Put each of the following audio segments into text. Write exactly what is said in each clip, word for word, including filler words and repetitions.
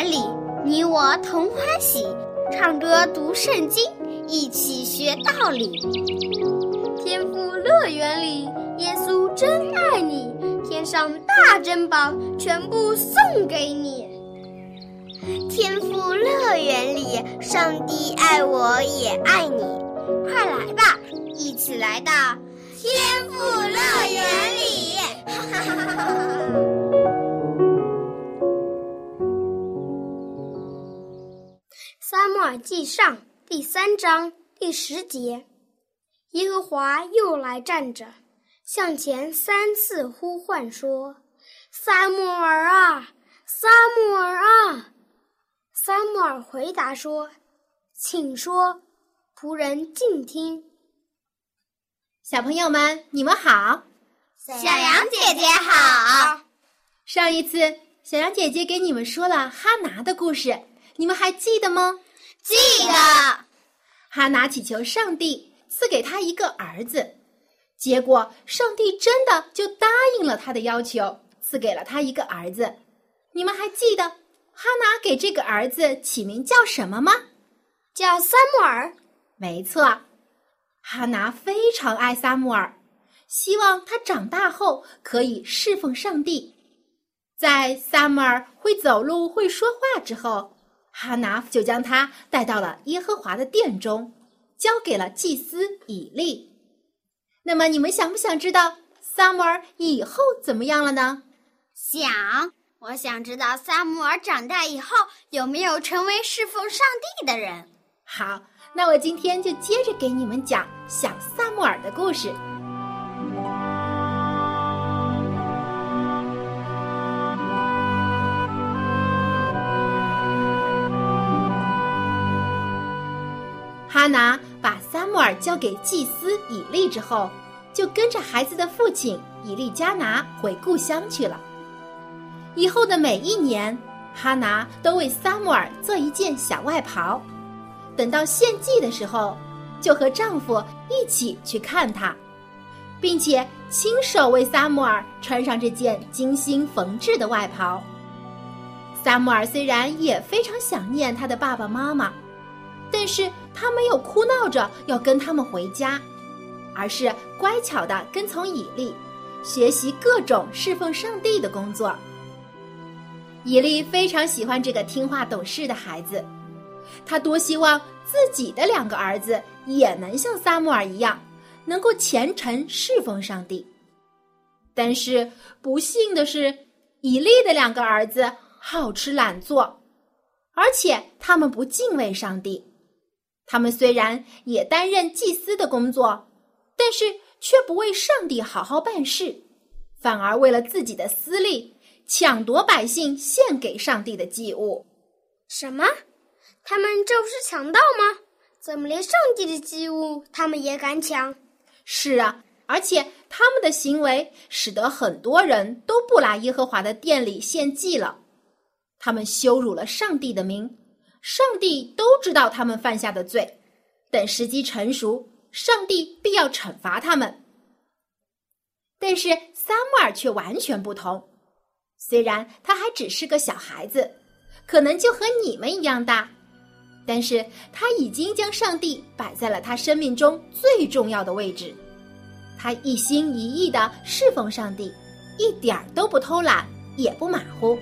园里，你我同欢喜，唱歌读圣经，一起学道理。天父乐园里，耶稣真爱你，天上大珍宝全部送给你。 天父乐园里，上帝爱我也爱你， 快来吧，一起来到天父乐园里。 撒母耳记上第三章第十节，耶和华又来站着，向前三次呼唤说：撒母耳啊，撒母耳啊！撒母耳回答说：请说，仆人静听。 小朋友们，你们好。 小羊姐姐好。 上一次小羊姐姐给你们说了哈拿的故事，你们还记得吗？ 记得。 哈拿祈求上帝赐给他一个儿子，结果上帝真的就答应了他的要求，赐给了他一个儿子。你们还记得哈拿给这个儿子起名叫什么吗？ 叫撒母耳。 没错，哈拿非常爱撒母耳，希望他长大后可以侍奉上帝。在撒母耳会走路会说话之后，哈拿就将他带到了耶和华的殿中，交给了祭司以利。那么你们想不想知道撒母耳以后怎么样了呢？ 想，我想知道撒母耳长大以后有没有成为侍奉上帝的人。 好，那我今天就接着给你们讲小撒母耳的故事。哈拿把撒母耳交给祭司以利之后，就跟着孩子的父亲以利加拿回故乡去了。以后的每一年，哈拿都为撒母耳做一件小外袍，等到献祭的时候，就和丈夫一起去看他，并且亲手为撒母耳穿上这件精心缝制的外袍。撒母耳虽然也非常想念他的爸爸妈妈，但是他没有哭闹着要跟他们回家，而是乖巧地跟从以利，学习各种侍奉上帝的工作。以利非常喜欢这个听话懂事的孩子，他多希望自己的两个儿子也能像撒母耳一样，能够虔诚侍奉上帝。但是不幸的是，以利的两个儿子好吃懒做，而且他们不敬畏上帝。他们虽然也担任祭司的工作，但是却不为上帝好好办事，反而为了自己的私利，抢夺百姓献给上帝的祭物。 什么？他们这不是强盗吗？怎么连上帝的祭物他们也敢抢？ 是啊，而且他们的行为使得很多人都不来耶和华的殿里献祭了。他们羞辱了上帝的名，上帝都知道他们犯下的罪，等时机成熟，上帝必要惩罚他们。但是撒母耳却完全不同，虽然他还只是个小孩子，可能就和你们一样大，但是他已经将上帝摆在了他生命中最重要的位置。他一心一意地侍奉上帝，一点儿都不偷懒，也不马虎。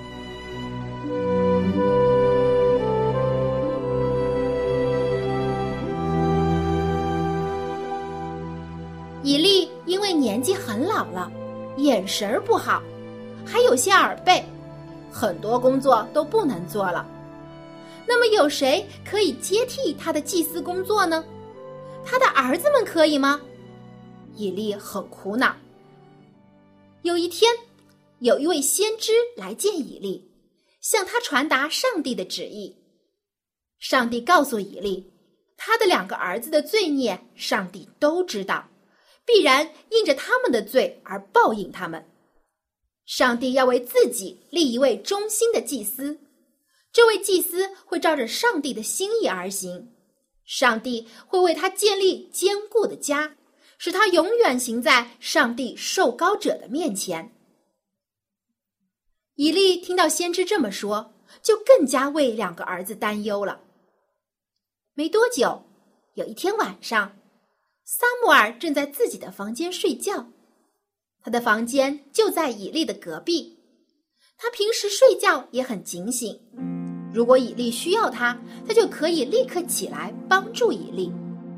以利因为年纪很老了，眼神不好，还有些耳背，很多工作都不能做了。那么有谁可以接替他的祭司工作呢？他的儿子们可以吗？以利很苦恼。有一天，有一位先知来见以利，向他传达上帝的旨意。上帝告诉以利，他的两个儿子的罪孽，上帝都知道，必然因着他们的罪而报应他们。上帝要为自己立一位忠心的祭司，这位祭司会照着上帝的心意而行，上帝会为他建立坚固的家，使他永远行在上帝受膏者的面前。以利听到先知这么说， 就更加为两个儿子担忧了。没多久，有一天晚上，撒母耳正在自己的房间睡觉，他的房间就在以利的隔壁。他平时睡觉也很警醒，如果以利需要他，他就可以立刻起来帮助以利。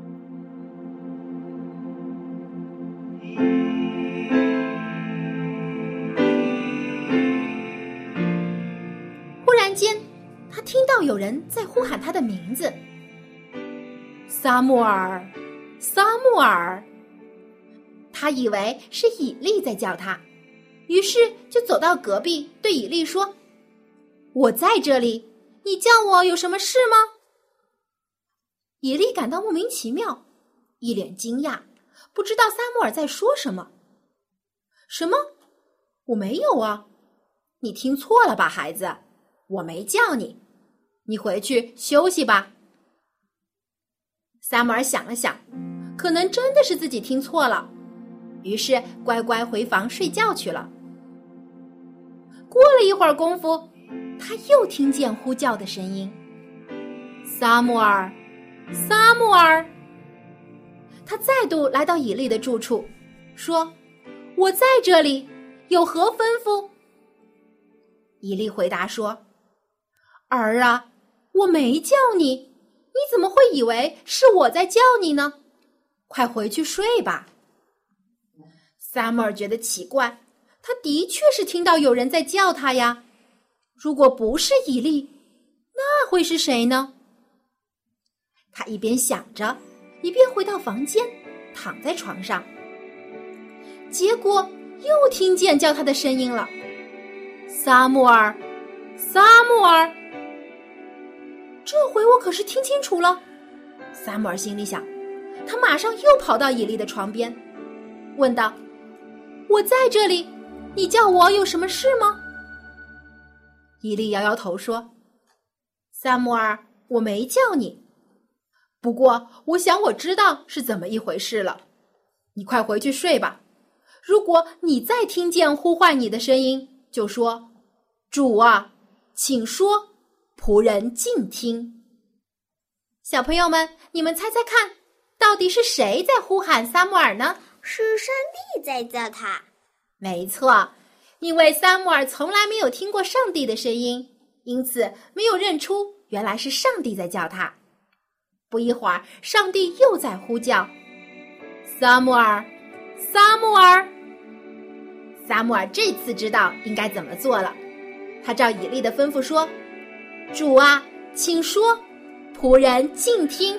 忽然间，他听到有人在呼喊他的名字：撒母耳，撒母耳。他以为是以利在叫他，于是就走到隔壁，对以利说：我在这里，你叫我有什么事吗？以利感到莫名其妙，一脸惊讶，不知道撒母耳在说什么。什么？我没有啊！你听错了吧，孩子，我没叫你，你回去休息吧。撒母耳想了想，可能真的是自己听错了，于是乖乖回房睡觉去了。过了一会儿功夫，他又听见呼叫的声音：撒母耳，撒母耳。他再度来到以利的住处，说：我在这里，有何吩咐？以利回答说：儿啊，我没叫你，你怎么会以为是我在叫你呢？快回去睡吧。撒母耳觉得奇怪，他的确是听到有人在叫他呀。如果不是以利，那会是谁呢？他一边想着，一边回到房间，躺在床上。结果又听见叫他的声音了：撒母耳，撒母耳。这回我可是听清楚了。撒母耳心里想，他马上又跑到以利的床边，问道：我在这里，你叫我有什么事吗？以利摇摇头说：撒母耳，我没叫你，不过我想我知道是怎么一回事了。你快回去睡吧。如果你再听见呼唤你的声音，就说：主啊，请说，仆人静听。小朋友们，你们猜猜看，到底是谁在呼喊撒母耳呢？ 是上帝在叫他。 没错，因为撒母耳从来没有听过上帝的声音，因此没有认出原来是上帝在叫他。不一会儿，上帝又在呼叫：撒母耳，撒母耳。撒母耳这次知道应该怎么做了，他照以利的吩咐说：主啊，请说，仆人静听。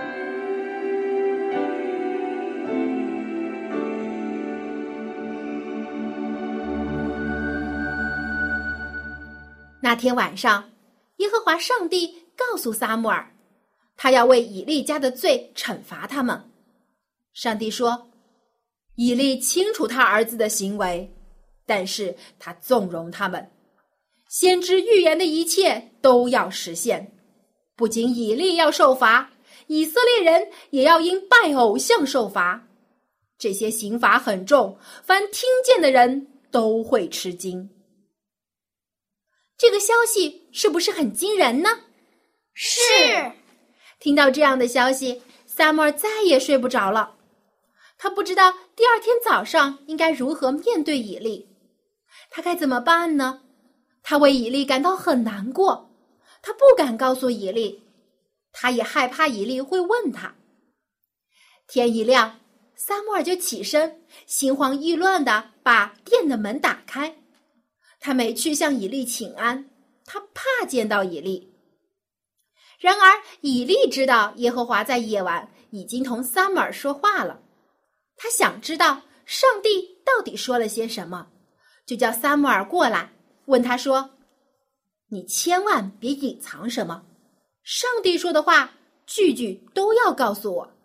那天晚上，耶和华上帝告诉撒母耳，他要为以利家的罪惩罚他们。上帝说：以利清楚他儿子的行为，但是他纵容他们，先知预言的一切都要实现。不仅以利要受罚，以色列人也要因拜偶像受罚。这些刑罚很重，凡听见的人都会吃惊。这个消息是不是很惊人呢？ 是。 听到这样的消息，撒母耳再也睡不着了。他不知道第二天早上应该如何面对以利，他该怎么办呢？他为以利感到很难过，他不敢告诉以利，他也害怕以利会问他。天一亮，撒母耳就起身，心慌意乱地把殿的门打开。他没去向以利请安，他怕见到以利。然而以利知道耶和华在夜晚已经同撒母耳说话了，他想知道上帝到底说了些什么，就叫撒母耳过来，问他说：你千万别隐藏什么，上帝说的话句句都要告诉我。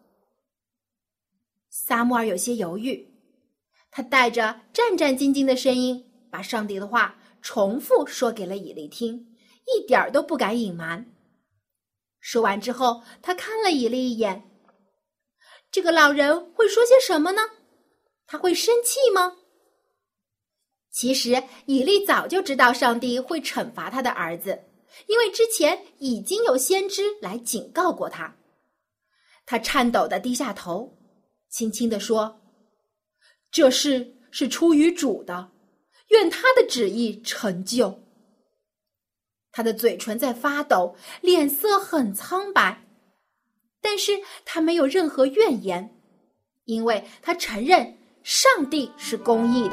撒母耳有些犹豫，他带着战战兢兢的声音把上帝的话重复说给了以利听，一点儿都不敢隐瞒。说完之后，他看了以利一眼，这个老人会说些什么呢？他会生气吗？其实以利早就知道上帝会惩罚他的儿子， 因为之前已经有先知来警告过他。他颤抖地低下头，轻轻地说：“这事是出于主的，愿他的旨意成就。”他的嘴唇在发抖，脸色很苍白，但是他没有任何怨言，因为他承认上帝是公义的。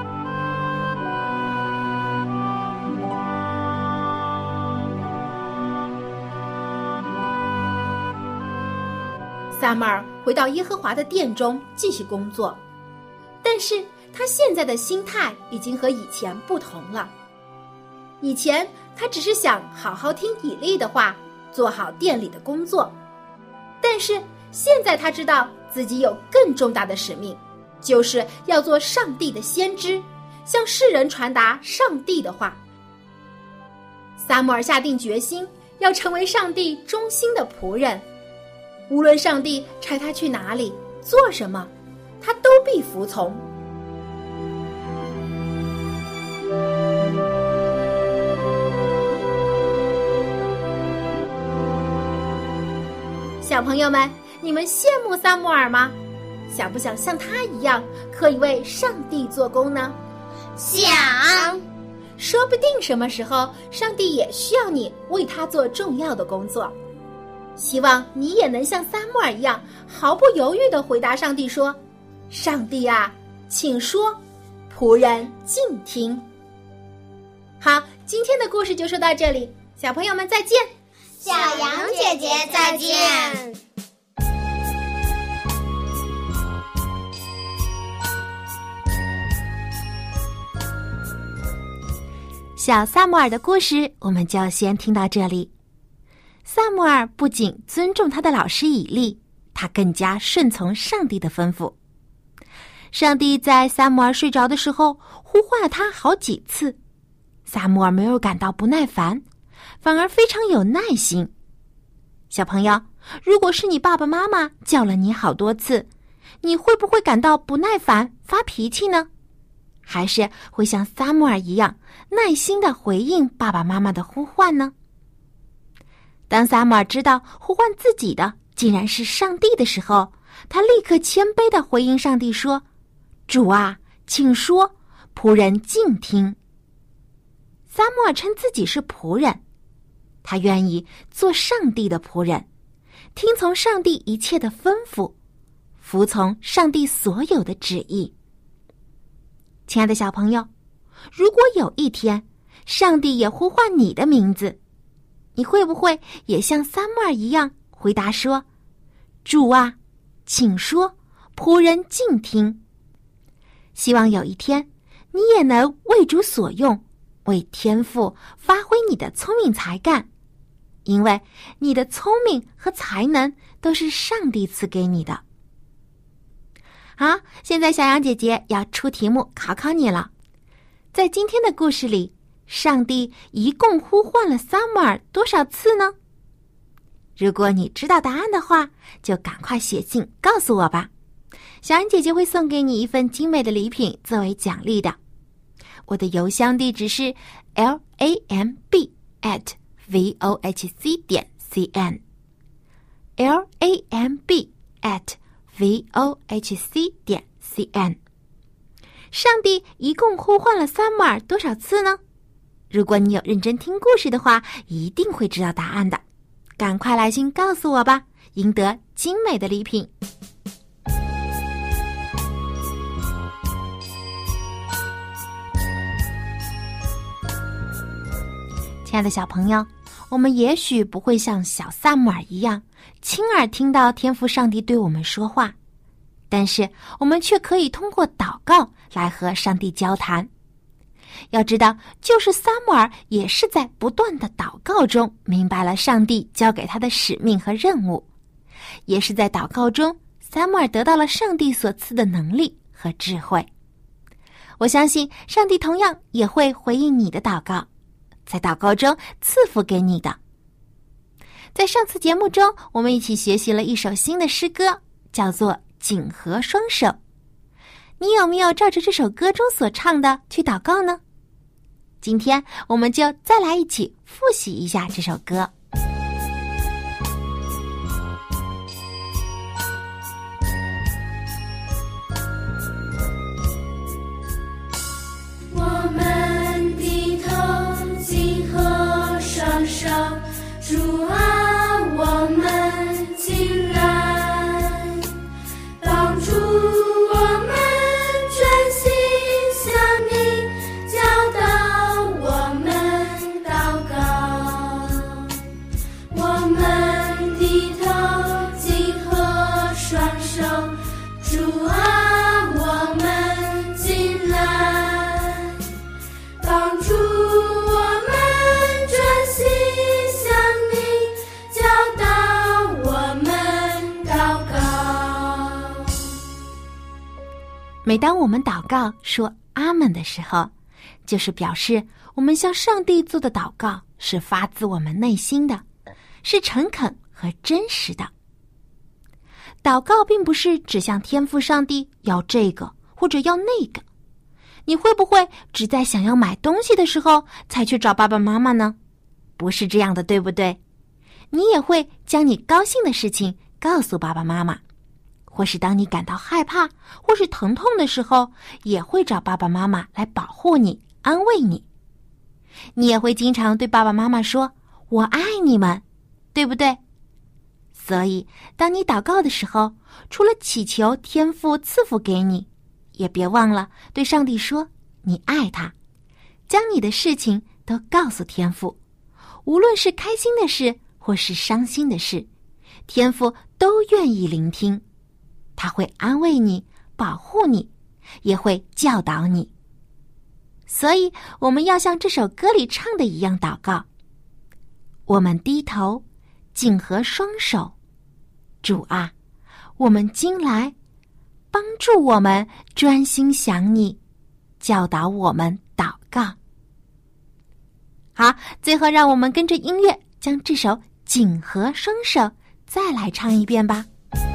撒母耳回到耶和华的殿中继续工作，但是他现在的心态已经和以前不同了。以前他只是想好好听以利的话，做好殿里的工作，但是现在他知道自己有更重大的使命，就是要做上帝的先知，向世人传达上帝的话。撒母耳下定决心要成为上帝忠心的仆人，无论上帝差他去哪里做什么，他都必服从。小朋友们，你们羡慕撒母耳吗？想不想像他一样，可以为上帝做工呢？ 想。 说不定什么时候，上帝也需要你为他做重要的工作。希望你也能像撒母耳一样，毫不犹豫地回答上帝说：“上帝啊，请说，仆人静听。”好，今天的故事就说到这里，小朋友们再见。 小羊姐姐再见。 小撒母耳的故事我们就先听到这里。撒母耳不仅尊重他的老师以利，他更加顺从上帝的吩咐。上帝在撒母耳睡着的时候呼唤了他好几次，撒母耳没有感到不耐烦，反而非常有耐心。小朋友，如果是你爸爸妈妈叫了你好多次，你会不会感到不耐烦发脾气呢？还是会像撒母耳一样耐心地回应爸爸妈妈的呼唤呢？当撒母耳知道呼唤自己的竟然是上帝的时候，他立刻谦卑地回应上帝说：“主啊，请说，仆人静听。”撒母耳称自己是仆人，他愿意做上帝的仆人，听从上帝一切的吩咐，服从上帝所有的旨意。亲爱的小朋友，如果有一天上帝也呼唤你的名字，你会不会也像撒母耳一样回答说：“主啊，请说，仆人静听。”希望有一天你也能为主所用，为天父发挥你的聪明才干，因为你的聪明和才能都是上帝赐给你的。好，现在小羊姐姐要出题目考考你了。在今天的故事里，上帝一共呼唤了撒母耳多少次呢？如果你知道答案的话，就赶快写信告诉我吧。小羊姐姐会送给你一份精美的礼品作为奖励的。我的邮箱地址是 l a m b at vohc 点 c n l a m b at vohc 点 c n。 上帝一共呼唤了撒母耳多少次呢？如果你有认真听故事的话，一定会知道答案的。赶快来信告诉我吧，赢得精美的礼品。亲爱的小朋友，我们也许不会像小撒母耳一样亲耳听到天父上帝对我们说话，但是我们却可以通过祷告来和上帝交谈。要知道，就是撒母耳也是在不断的祷告中明白了上帝交给他的使命和任务，也是在祷告中撒母耳得到了上帝所赐的能力和智慧。我相信上帝同样也会回应你的祷告，在祷告中赐福给你的。在上次节目中，我们一起学习了一首新的诗歌，叫做《紧合双手》。你有没有照着这首歌中所唱的去祷告呢？ 今天我们就再来一起复习一下这首歌。 我们低头紧合双手，主啊，我们进来，帮助我们专心向你，教导我们祷告。我们低头紧合双手，主啊，我们进来，帮助我们专心向你，教导我们祷告。 每当我们祷告说阿们的时候，就是表示我们向上帝做的祷告是发自我们内心的，是诚恳和真实的。祷告并不是只向天父上帝要这个或者要那个。你会不会只在想要买东西的时候才去找爸爸妈妈呢？不是这样的，对不对？你也会将你高兴的事情告诉爸爸妈妈，或是当你感到害怕或是疼痛的时候，也会找爸爸妈妈来保护你，安慰你。你也会经常对爸爸妈妈说我爱你们，对不对？所以当你祷告的时候，除了祈求天父赐福给你，也别忘了对上帝说你爱他，将你的事情都告诉天父，无论是开心的事或是伤心的事，天父都愿意聆听，他会安慰你，保护你，也会教导你。所以我们要像这首歌里唱的一样祷告，我们低头紧合双手，主啊，我们今来，帮助我们专心想你，教导我们祷告。好，最后让我们跟着音乐将这首紧合双手再来唱一遍吧。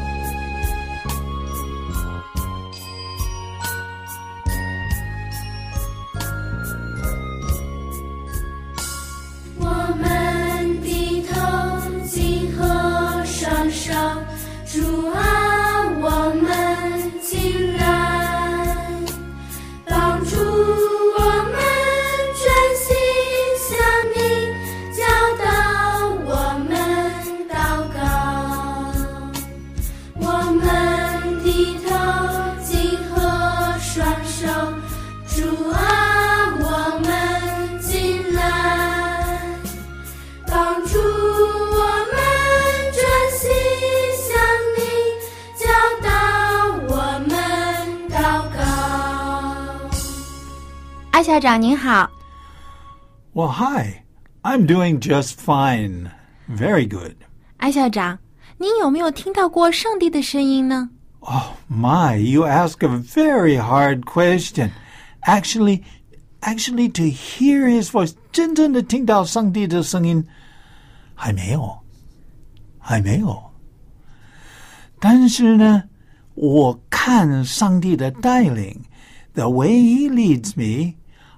我们低头紧合双手，主啊，我们进来，帮助我们专心向你，教导我们祷告。我们低头紧合双手，主啊，我们进来，帮助我们专心向你，教导我们祷告。 艾校长您好。 Well, hi. I'm doing just fine. Very good. 艾校长，您有没有听到过上帝的声音呢？ Oh, my, you ask a very hard question. Actually, actually to hear his voice, 真正的听到上帝的声音，还没有，还没有。但是呢，我看上帝的带领 the way he leads me,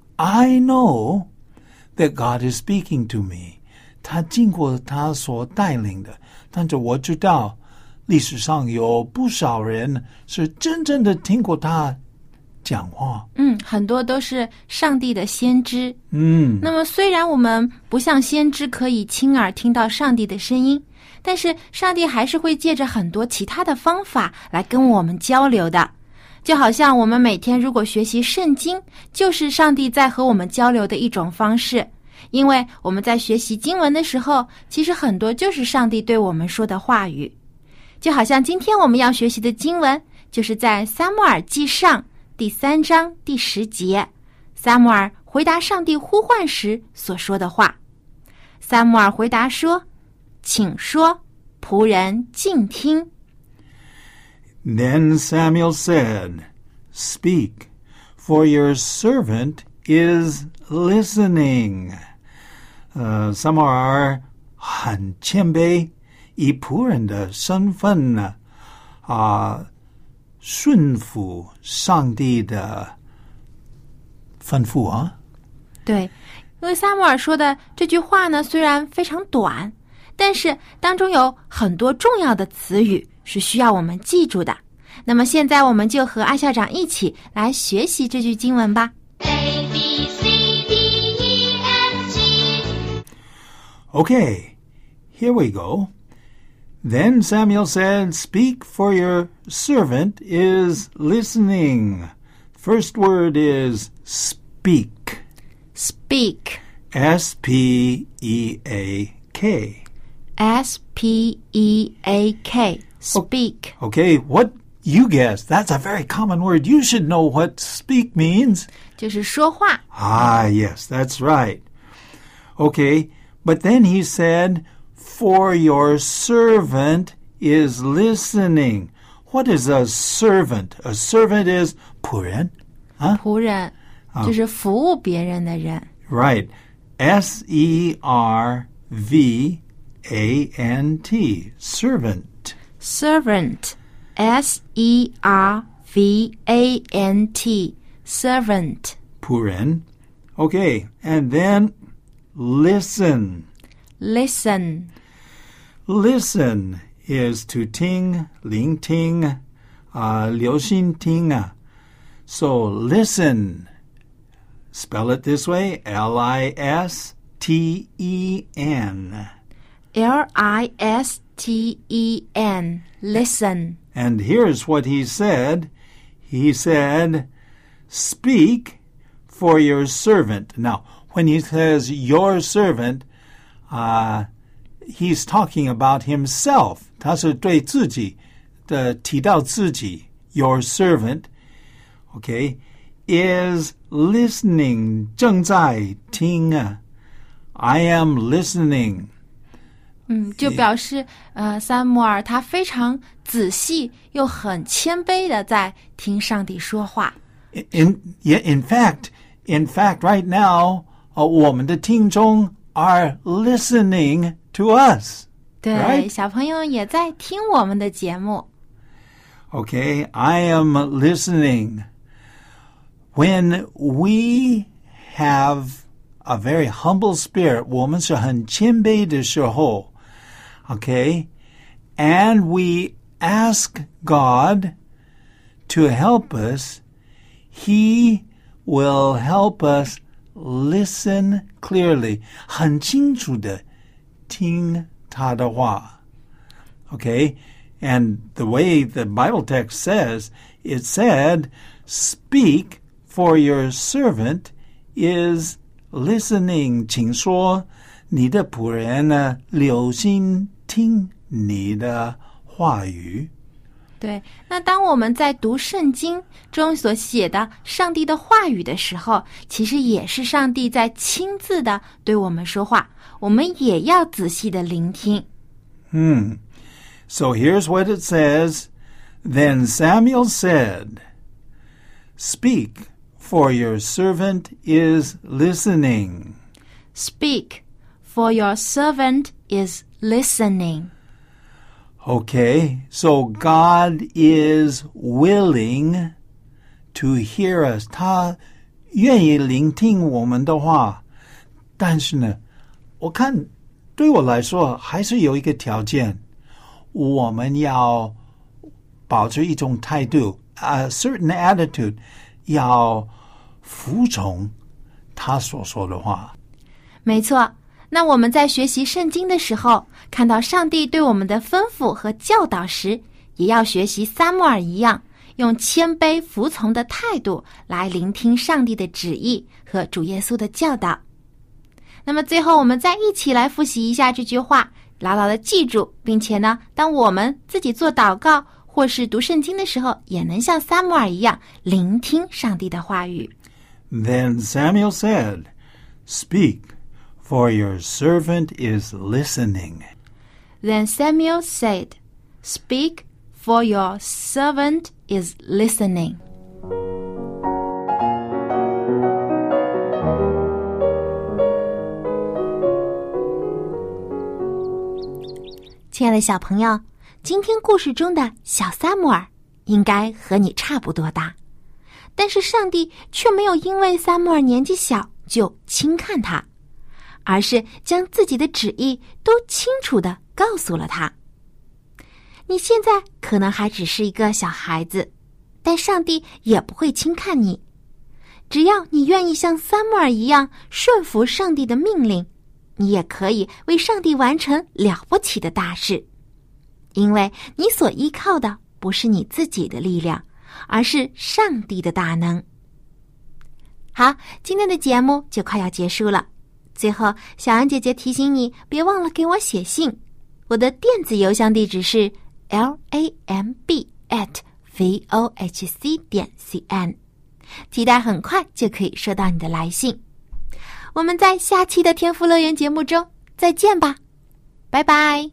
I know that God is speaking to me. 他经过他所带领的，但是我知道历史上有不少人是真正的听过他讲话。 嗯，很多都是上帝的先知。 嗯， 那么虽然我们不像先知可以亲耳听到上帝的声音，但是上帝还是会借着很多其他的方法来跟我们交流的。就好像我们每天如果学习圣经，就是上帝在和我们交流的一种方式。因为我们在学习经文的时候，其实很多就是上帝对我们说的话语。就好像今天我们要学习的经文，就是在撒母耳记上第三章第十节，撒母耳回答上帝呼唤时所说的话。撒母耳回答说：请说，仆人静听。 Then Samuel said, Speak, for your servant is listening. 呃，撒母耳很谦卑，以仆人的身份呢，啊，顺服上帝的吩咐啊。 对，因为撒母耳说的这句话呢，虽然非常短，但是当中有很多重要的词语是需要我们记住的。那么现在我们就和艾校长一起来学习这句经文吧。 A, B, C, D, E, F, G. Okay, here we go. Then Samuel said, Speak, for your servant is listening. First word is speak. Speak. S P E A K. S P E A K. Speak. Okay, what you guessed. That's a very common word. You should know what speak means. 就是说话。 Ah, yes, that's right. Okay, but then he said, For your servant is listening. What is a servant? A servant is 仆人. Huh? 仆人，就是服务别人的人。 Right. S E R V A N T. Servant. Servant. S E R V A N T. Servant. 仆人. Okay, and then listen. Listen. Listen is to ting, ling ting, uh, 留心听啊. So listen. Spell it this way, L I S T E N. L I S T E N. Listen. And here's what he said. He said, Speak for your servant. Now, when he says your servant, uh, he's talking about himself. 他是对自己的提到自己 your servant, okay, is listening. 正在听啊 I am listening. 嗯，就表示呃，撒母耳他非常仔细又很谦卑的在听上帝说话。 In, yeah, in fact, in fact, right now, uh, 我们的听众 are listening to us. 对， Right? 小朋友也在听我们的节目。 Okay, I am listening. When we have a very humble spirit, 我们是很谦卑的时候, okay, and we ask God to help us, He will help us listen clearly. 很清楚的听他的话. Okay? And the way the Bible text says, it said, Speak, for your servant is listening. 请说你的仆人呢，留心听你的话语。 对，那当我们在读圣经中所写的上帝的话语的时候，其实也是上帝在亲自的对我们说话，我们也要仔细的聆听。 Hmm. So here's what it says. Then Samuel said, Speak, for your servant is listening. Speak, for your servant is listening. Okay, so God is willing to hear us. 他愿意聆听我们的话，但是呢，我看对我来说还是有一个条件，我们要保持一种态度 a certain attitude, 要服从他所说的话。 没错，那我们在学习圣经的时候，看到上帝对我们的吩咐和教导时，也要学习撒母耳一样，用谦卑服从的态度来聆听上帝的旨意和主耶稣的教导。那么最后我们再一起来复习一下这句话，牢牢的记住，并且呢，当我们自己做祷告或是读圣经的时候，也能像撒母耳一样聆听上帝的话语。 Then Samuel said, Speak, for your servant is listening. Then Samuel said, Speak, for your servant is listening. 亲爱的小朋友，今天故事中的小撒母耳应该和你差不多大，但是上帝却没有因为撒母耳年纪小就轻看他，而是将自己的旨意都清楚地告诉了他。你现在可能还只是一个小孩子，但上帝也不会轻看你。只要你愿意像撒母耳一样顺服上帝的命令，你也可以为上帝完成了不起的大事。因为你所依靠的不是你自己的力量，而是上帝的大能。好，今天的节目就快要结束了。最后，小羊姐姐提醒你，别忘了给我写信。我的电子邮箱地址是 l a m b at v o h c 点 c n， 期待很快就可以收到你的来信。我们在下期的天父乐园节目中再见吧，拜拜。